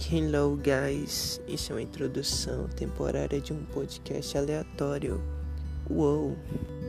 Hello guys, isso é uma introdução temporária de um podcast aleatório. Uou!